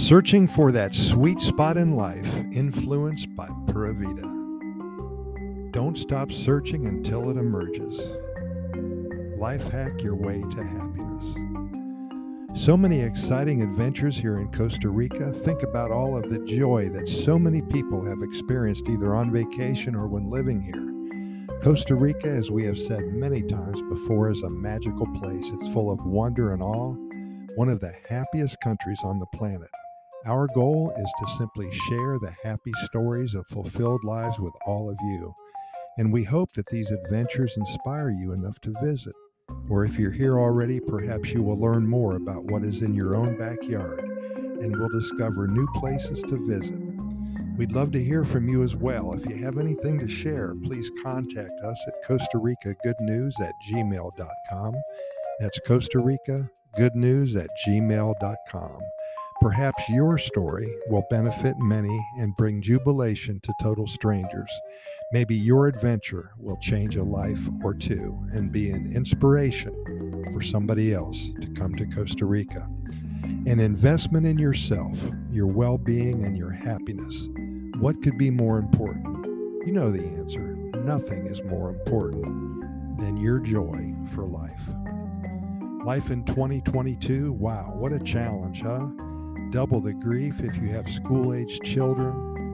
Searching for that sweet spot in life, influenced by Pura Vida. Don't stop searching until it emerges. Life hack your way to happiness. So many exciting adventures here in Costa Rica. Think about all of the joy that so many people have experienced either on vacation or when living here. Costa Rica, as we have said many times before, is a magical place. It's full of wonder and awe, one of the happiest countries on the planet. Our goal is to simply share the happy stories of fulfilled lives with all of you. And we hope that these adventures inspire you enough to visit. Or if you're here already, perhaps you will learn more about what is in your own backyard and will discover new places to visit. We'd love to hear from you as well. If you have anything to share, please contact us at Costa Rica Good News at gmail.com. That's Costa Rica Good News at gmail.com. Perhaps your story will benefit many and bring jubilation to total strangers. Maybe your adventure will change a life or two and be an inspiration for somebody else to come to Costa Rica. An investment in yourself, your well-being, and your happiness. What could be more important? You know the answer. Nothing is more important than your joy for life. Life in 2022, wow, what a challenge, huh? Double the grief if you have school-aged children,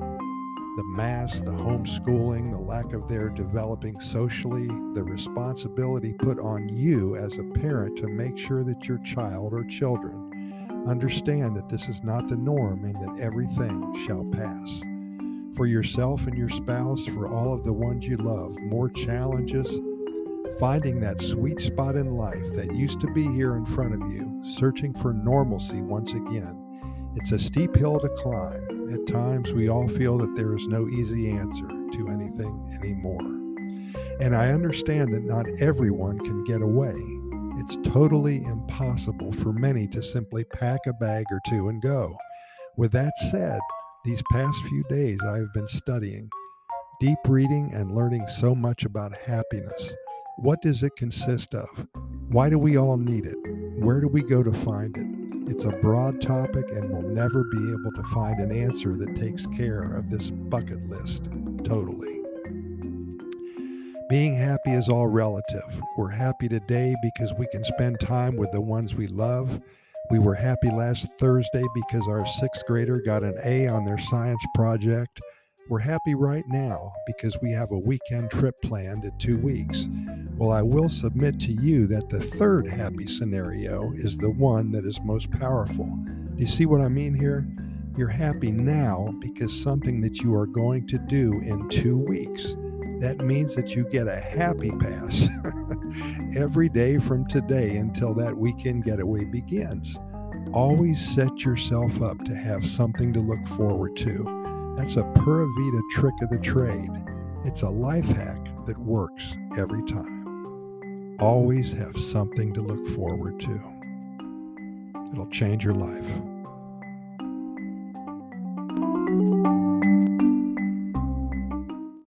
the mask, the homeschooling, the lack of their developing socially, the responsibility put on you as a parent to make sure that your child or children understand that this is not the norm and that everything shall pass. For yourself and your spouse, for all of the ones you love, more challenges, finding that sweet spot in life that used to be here in front of you, searching for normalcy once again. It's a steep hill to climb. At times, we all feel that there is no easy answer to anything anymore. And I understand that not everyone can get away. It's totally impossible for many to simply pack a bag or two and go. With that said, these past few days I have been studying, deep reading and learning so much about happiness. What does it consist of? Why do we all need it? Where do we go to find it? It's a broad topic and we'll never be able to find an answer that takes care of this bucket list totally. Being happy is all relative. We're happy today because we can spend time with the ones we love. We were happy last Thursday because our 6th grader got an A on their science project. We're happy right now because we have a weekend trip planned in 2 weeks. Well, I will submit to you that the third happy scenario is the one that is most powerful. Do you see what I mean here? You're happy now because something that you are going to do in 2 weeks. That means that you get a happy pass every day from today until that weekend getaway begins. Always set yourself up to have something to look forward to. That's a Pura Vida trick of the trade. It's a life hack that works every time. Always have something to look forward to. It'll change your life.